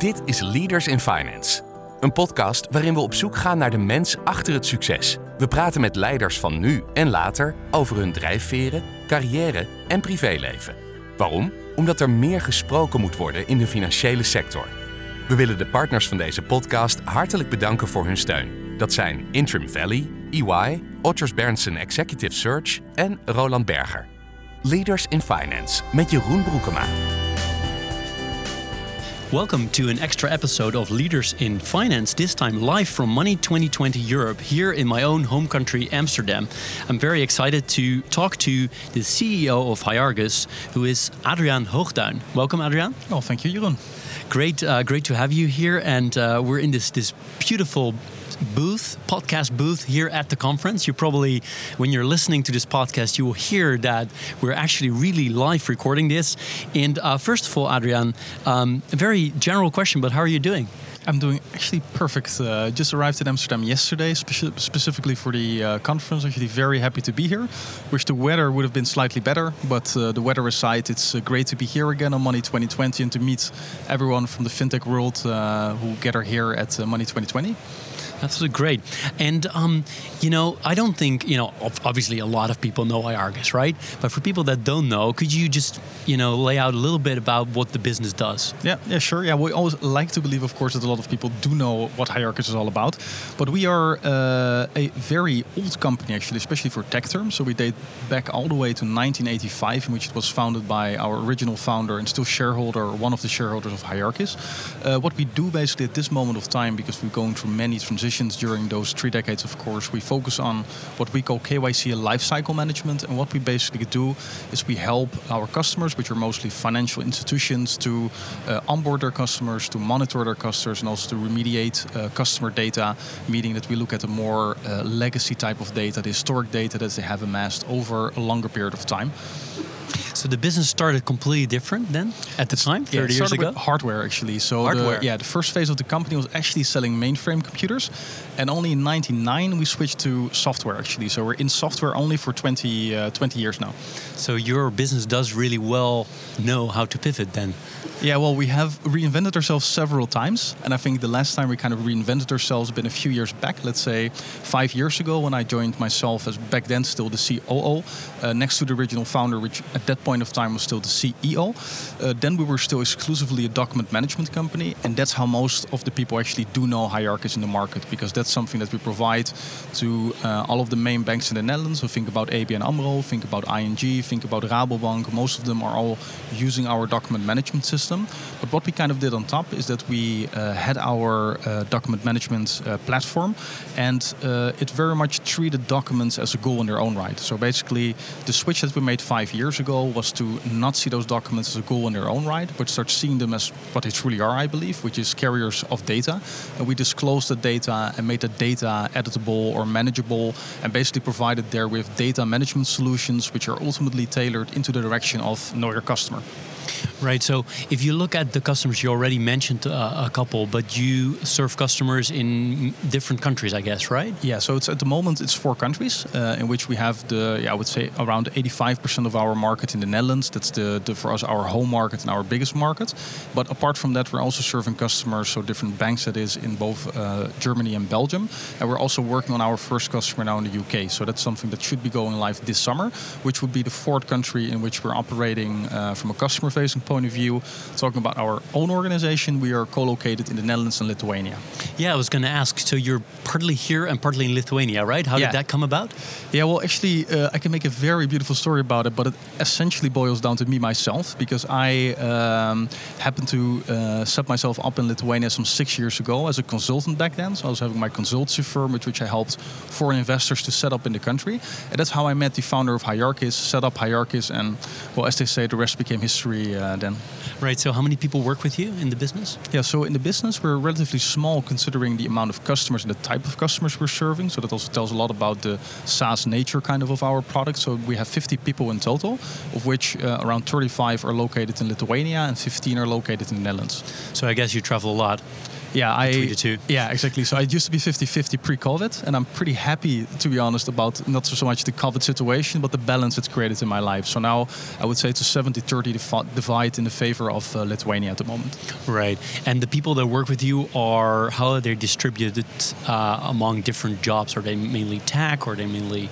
Dit is Leaders in Finance. Een podcast waarin we op zoek gaan naar de mens achter het succes. We praten met leiders van nu en later over hun drijfveren, carrière en privéleven. Waarom? Omdat er meer gesproken moet worden in de financiële sector. We willen de partners van deze podcast hartelijk bedanken voor hun steun. Dat zijn Interim Valley, EY, Otters Berndsen Executive Search en Roland Berger. Leaders in Finance met Jeroen Broekema. Welcome to an extra episode of Leaders in Finance, this time live from Money 2020 Europe, here in my own home country, Amsterdam. I'm very excited to talk to the CEO of Hyargus, who is Adriaan Hoogduin. Welcome, Adriaan. Oh, thank you, Jeroen. Great to have you here, and we're in this beautiful podcast booth here at the conference. You probably, when you're listening to this podcast, you will hear that we're actually really live recording this. And first of all, Adriaan, a very general question, but how are you doing? I'm doing actually perfect. Just arrived in Amsterdam yesterday, specifically for the conference. Actually very happy to be here. Wish the weather would have been slightly better, but the weather aside, it's great to be here again on Money 2020 and to meet everyone from the fintech world who gather here at Money 2020. That's great. And, I don't think, obviously a lot of people know Hyargus, right? But for people that don't know, could you just, lay out a little bit about what the business does? Yeah, sure. Yeah, we always like to believe, of course, that a lot of people do know what Hyargus is all about. But we are a very old company, actually, especially for tech terms. So we date back all the way to 1985, in which it was founded by our original founder and still shareholder, one of the shareholders of Hyargus. What we do basically at this moment of time, because we're going through many transitions during those 3 decades, of course, we focus on what we call KYC lifecycle management. And what we basically do is we help our customers, which are mostly financial institutions, to onboard their customers, to monitor their customers, and also to remediate customer data, meaning that we look at a more legacy type of data, the historic data that they have amassed over a longer period of time. So the business started completely different then at the time, 30 years ago? With hardware, actually. So hardware. The first phase of the company was actually selling mainframe computers. And only in 1999 we switched to software, actually. So we're in software only for 20 years now. So your business does really well know how to pivot then? Yeah, well, we have reinvented ourselves several times. And I think the last time we kind of reinvented ourselves has been a few years back. Let's say 5 years ago, when I joined myself as back then still the COO, next to the original founder, which at that point of time was still the CEO. Then we were still exclusively a document management company. And that's how most of the people actually do know Hyargus in the market, because that's something that we provide to all of the main banks in the Netherlands. So think about ABN AMRO, think about ING, think about Rabobank. Most of them are all using our document management system. But what we kind of did on top is that we had our document management platform, and it very much treated documents as a goal in their own right. So basically, the switch that we made 5 years ago was to not see those documents as a goal in their own right, but start seeing them as what they truly are, I believe, which is carriers of data. And we disclosed the data and made the data editable or manageable, and basically provided there with data management solutions which are ultimately tailored into the direction of know your customer. Right, so if you look at the customers, you already mentioned a couple, but you serve customers in different countries, I guess, right? Yeah, so at the moment it's 4 countries in which we have I would say around 85% of our market in the Netherlands. That's for us our home market and our biggest market. But apart from that, we're also serving customers, so different banks that is in both Germany and Belgium. And we're also working on our first customer now in the UK. So that's something that should be going live this summer, which would be the 4th country in which we're operating from a customer-facing point of view. Talking about our own organization, we are co-located in the Netherlands and Lithuania. Yeah, I was going to ask, so you're partly here and partly in Lithuania, right? How did that come about? Yeah, well, actually, I can make a very beautiful story about it, but it essentially boils down to me myself, because I happened to set myself up in Lithuania some 6 years ago as a consultant back then. So I was having my consultancy firm, with which I helped foreign investors to set up in the country. And that's how I met the founder of Hyargus, set up Hyargus, and, well, as they say, the rest became history then. Right, so how many people work with you in the business? Yeah, so in the business, we're relatively small considering the amount of customers and the type of customers we're serving. So that also tells a lot about the SaaS nature kind of our product. So we have 50 people in total, of which around 35 are located in Lithuania and 15 are located in the Netherlands. So I guess you travel a lot. between the two? Yeah, exactly. So it used to be 50-50 pre-COVID, and I'm pretty happy, to be honest, about not so much the COVID situation, but the balance it's created in my life. So now I would say it's a 70-30 divide in the favor of Lithuania at the moment. Right. And the people that work with you how are they distributed among different jobs? Are they mainly tech, or are they mainly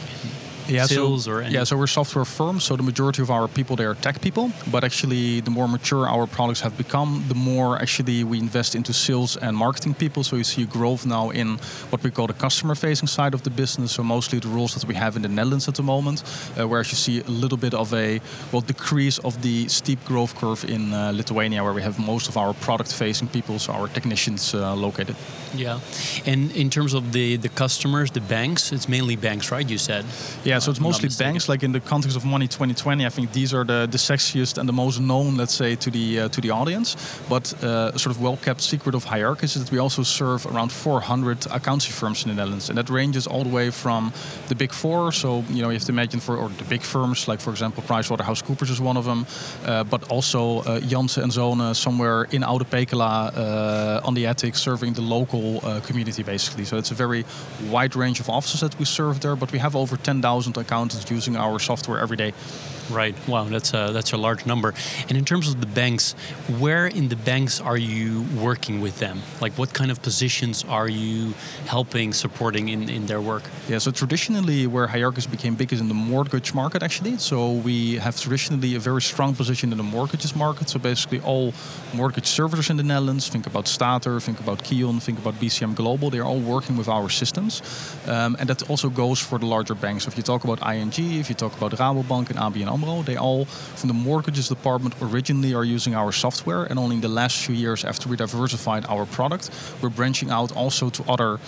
sales? So we're a software firm, so the majority of our people, they are tech people. But actually, the more mature our products have become, the more actually we invest into sales and marketing people. So you see a growth now in what we call the customer-facing side of the business. So mostly the roles that we have in the Netherlands at the moment, whereas you see a little bit of a decrease of the steep growth curve in Lithuania, where we have most of our product-facing people, so our technicians located. Yeah. And in terms of the customers, the banks, it's mainly banks, right? You said. Yeah, so it's mostly banks. Like in the context of Money 2020, I think these are the sexiest and the most known, let's say, to the audience. But a sort of well-kept secret of Hierarchis is that we also serve around 400 accounting firms in the Netherlands, and that ranges all the way from the big four. So you have to imagine or the big firms, like for example, PricewaterhouseCoopers is one of them, but also Janssen and Zonen somewhere in Oude Pekela on the Attic, serving the local community basically. So it's a very wide range of offices that we serve there, but we have over 10,000 accountants using our software every day. Right. Wow, that's a large number. And in terms of the banks, where in the banks are you working with them? Like, what kind of positions are you helping, supporting in their work? Yeah, so traditionally where Hierarchis became big is in the mortgage market, actually. So we have traditionally a very strong position in the mortgages market. So basically all mortgage servicers in the Netherlands, think about Stater, think about Kion, think about BCM Global, they're all working with our systems. And that also goes for the larger banks. So if you talk about ING, if you talk about Rabobank and ABN AMRO, they all, from the mortgages department, originally are using our software. And only in the last few years, after we diversified our product, we're branching out also to other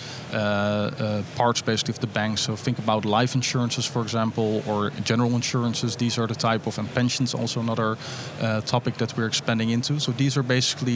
parts, basically, of the bank. So think about life insurances, for example, or general insurances. These are the type of, and pensions, also another topic that we're expanding into. So these are basically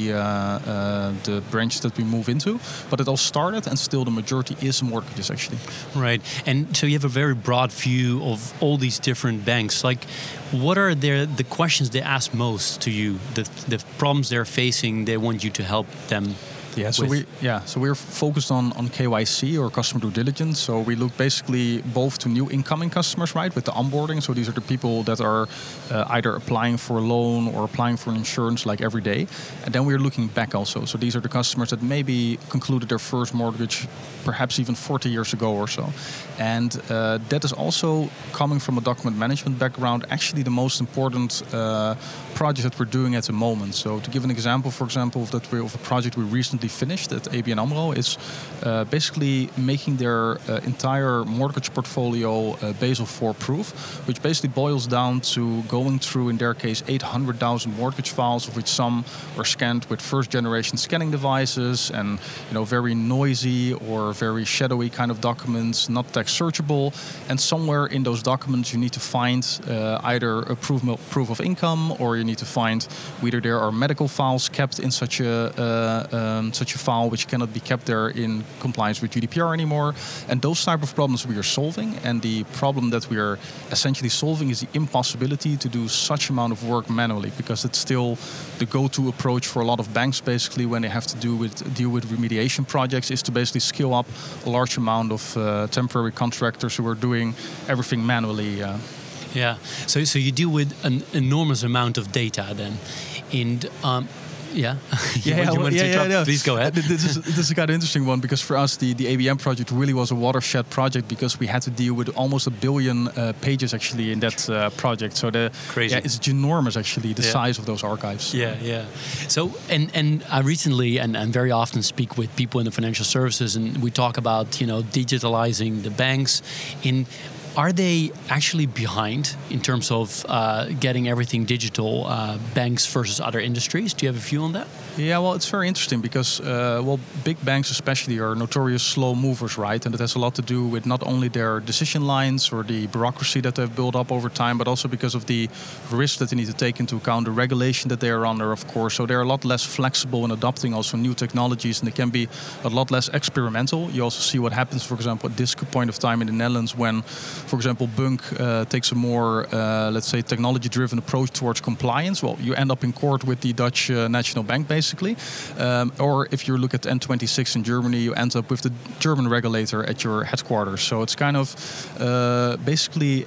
the branches that we move into. But it all started, and still the majority is mortgages, actually. Right. And so you have a very broad view of all these different banks. Like, what are the questions they ask most to you? The problems they're facing, they want you to help them. Yeah, so we're focused on KYC, or customer due diligence. So we look basically both to new incoming customers, right, with the onboarding. So these are the people that are either applying for a loan or applying for an insurance like every day. And then we're looking back also. So these are the customers that maybe concluded their first mortgage perhaps even 40 years ago or so. And that is also coming from a document management background, actually the most important project that we're doing at the moment. So to give an example, for example, of a project we recently finished at ABN AMRO, is basically making their entire mortgage portfolio Basel IV proof, which basically boils down to going through, in their case, 800,000 mortgage files, of which some are scanned with first generation scanning devices and very noisy or very shadowy kind of documents, not text searchable. And somewhere in those documents you need to find either a proof of income, or you need to find whether there are medical files kept in such a file which cannot be kept there in compliance with GDPR anymore. And those type of problems we are solving. And the problem that we are essentially solving is the impossibility to do such amount of work manually, because it's still the go-to approach for a lot of banks, basically, when they have to deal with remediation projects, is to basically skill up a large amount of temporary contractors who are doing everything manually. Yeah. So you deal with an enormous amount of data then. And please go ahead. This is a kind of interesting one, because for us the ABM project really was a watershed project, because we had to deal with almost 1 billion pages actually in that project. So Crazy. It's enormous actually, the size of those archives. Yeah. So and I recently and very often speak with people in the financial services, and we talk about digitalizing the banks. Are they actually behind in terms of getting everything digital, banks versus other industries? Do you have a view on that? Yeah, well, it's very interesting because, big banks especially are notorious slow movers, right? And it has a lot to do with not only their decision lines or the bureaucracy that they've built up over time, but also because of the risks that they need to take into account, the regulation that they are under, of course. So they're a lot less flexible in adopting also new technologies, and they can be a lot less experimental. You also see what happens, for example, at this point of time in the Netherlands, when for example, Bunk takes a more, let's say, technology-driven approach towards compliance, well, you end up in court with the Dutch National Bank, basically. Or if you look at N26 in Germany, you end up with the German regulator at your headquarters. So it's kind of basically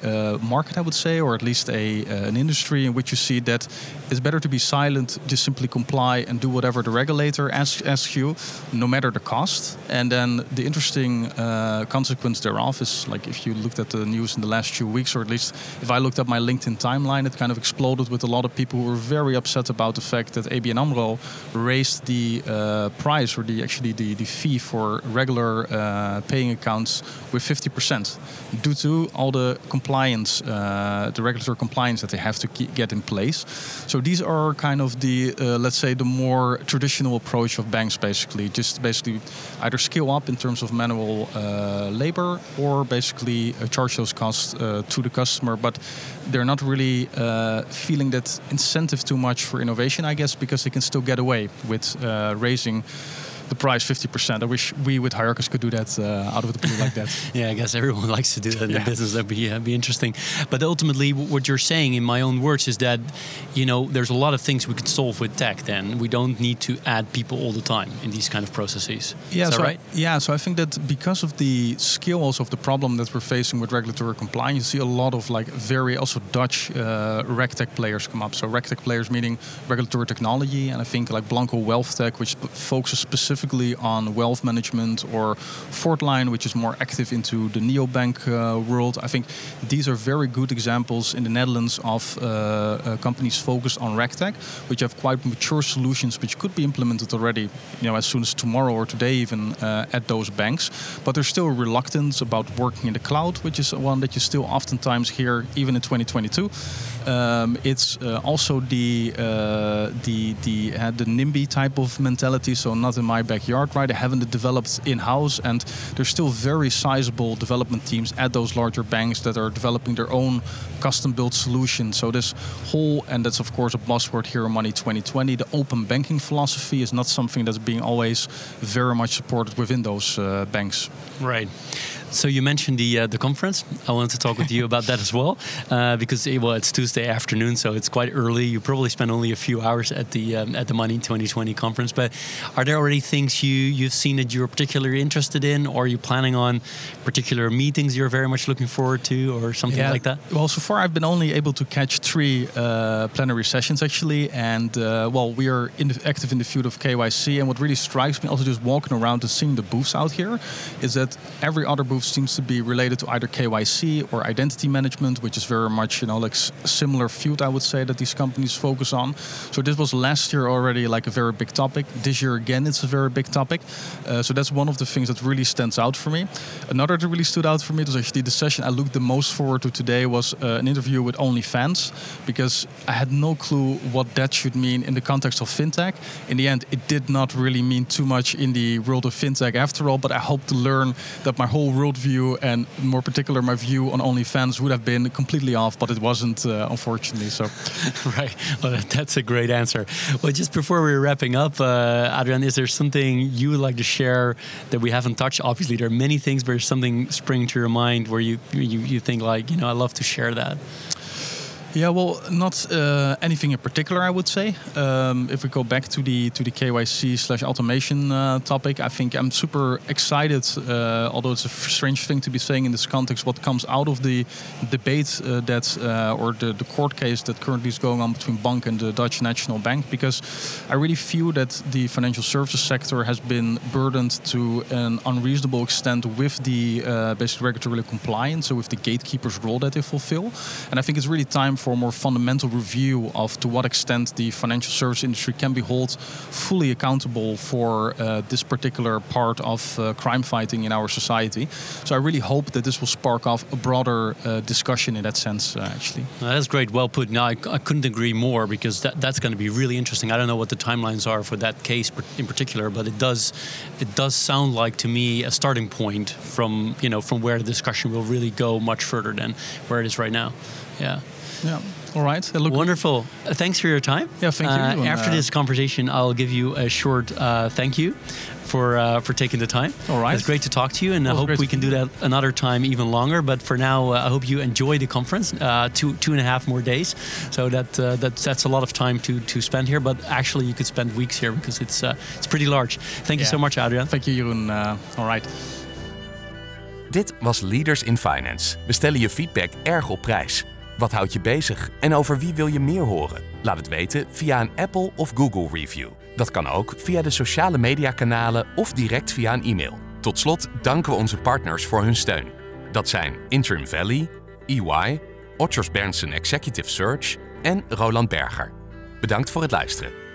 a market, I would say, or at least an industry in which you see that it's better to be silent, just simply comply and do whatever the regulator asks you, no matter the cost. And then the interesting consequence thereof is, like, if you looked at the news in the last few weeks, or at least if I looked at my LinkedIn timeline, it kind of exploded with a lot of people who were very upset about the fact that ABN AMRO raised the price, or the fee for regular paying accounts with 50% due to all the compliance, the regulatory compliance that they have to get in place. So these are kind of the, let's say, the more traditional approach of banks, basically. Just basically either scale up in terms of manual labor, or basically charge those costs to the customer. But they're not really feeling that incentive too much for innovation, I guess, because they can still get away with raising the price 50%. I wish we with Hierarchus could do that out of the blue like that. Yeah, I guess everyone likes to do that in the business. That'd be interesting. But ultimately, what you're saying, in my own words, is that, you know, there's a lot of things we could solve with tech. Then we don't need to add people all the time in these kind of processes. Yeah, is that right? Yeah, so I think that because of the scale also of the problem that we're facing with regulatory compliance, you see a lot of like very also Dutch RegTech players come up. So RegTech players meaning regulatory technology, and I think like Blanco WealthTech, which focuses specifically on wealth management, or Fortline, which is more active into the neobank world. I think these are very good examples in the Netherlands of companies focused on RegTech, which have quite mature solutions which could be implemented already, you know, as soon as tomorrow or today even at those banks. But there's still reluctance about working in the cloud, which is one that you still oftentimes hear even in 2022. It's also the NIMBY type of mentality, so not in my backyard, right? They haven't developed in-house, and there's still very sizable development teams at those larger banks that are developing their own custom-built solutions. So this whole, and that's of course a buzzword here in Money 2020, the open banking philosophy is not something that's being always very much supported within those banks. Right. So you mentioned the conference. I wanted to talk with you about that as well, because it's Tuesday afternoon, so it's quite early. You probably spent only a few hours at the Money 2020 conference. But are there already things you've seen that you're particularly interested in, or are you planning on particular meetings you're very much looking forward to, or something like that? Well, so far I've been only able to catch 3 plenary sessions actually, and we are active in the field of KYC. And what really strikes me, also just walking around and seeing the booths out here, is that every other booth seems to be related to either KYC or identity management, which is very much, you know, like a similar field, I would say, that these companies focus on. So this was last year already like a very big topic. This year again, it's a very big topic. So that's one of the things that really stands out for me. Another that really stood out for me was actually the session I looked the most forward to today was an interview with OnlyFans, because I had no clue what that should mean in the context of fintech. In the end, it did not really mean too much in the world of fintech after all, but I hope to learn that my whole worldview, and more particular my view on OnlyFans, would have been completely off, but it wasn't, unfortunately. So, right. Well, that's a great answer. Well, just before we're wrapping up, Adrian, is there something you would like to share that we haven't touched? Obviously, there are many things, but there's something springing to your mind where you think like, you know, I'd love to share that. Yeah, well, not anything in particular, I would say. If we go back to the KYC/automation topic, I think I'm super excited, although it's a strange thing to be saying in this context, what comes out of the debate or the court case that currently is going on between Bank and the Dutch National Bank, because I really feel that the financial services sector has been burdened to an unreasonable extent with the basic regulatory compliance, so with the gatekeeper's role that they fulfill. And I think it's really time for a more fundamental review of to what extent the financial service industry can be held fully accountable for this particular part of crime fighting in our society. So I really hope that this will spark off a broader discussion in that sense, actually. That's great. Well put. No, I couldn't agree more, because that's going to be really interesting. I don't know what the timelines are for that case in particular, but it does sound like to me a starting point from where the discussion will really go much further than where it is right now. Yeah. Yeah. All right. Wonderful. Thanks for your time. Yeah, thank you. After this conversation, I'll give you a short thank you for taking the time. All right. It's great to talk to you, and I hope we can do that another time even longer. But for now, I hope you enjoy the conference. 2.5 more days, so that's a lot of time to spend here. But actually, you could spend weeks here because it's pretty large. Thank you so much, Adriaan. Thank you, Jeroen. All right. Dit was Leaders in Finance. We stellen je feedback erg op prijs. Wat houdt je bezig en over wie wil je meer horen? Laat het weten via een Apple of Google review. Dat kan ook via de sociale mediakanalen of direct via een e-mail. Tot slot danken we onze partners voor hun steun. Dat zijn Interim Valley, EY, Otters Berndsen Executive Search en Roland Berger. Bedankt voor het luisteren.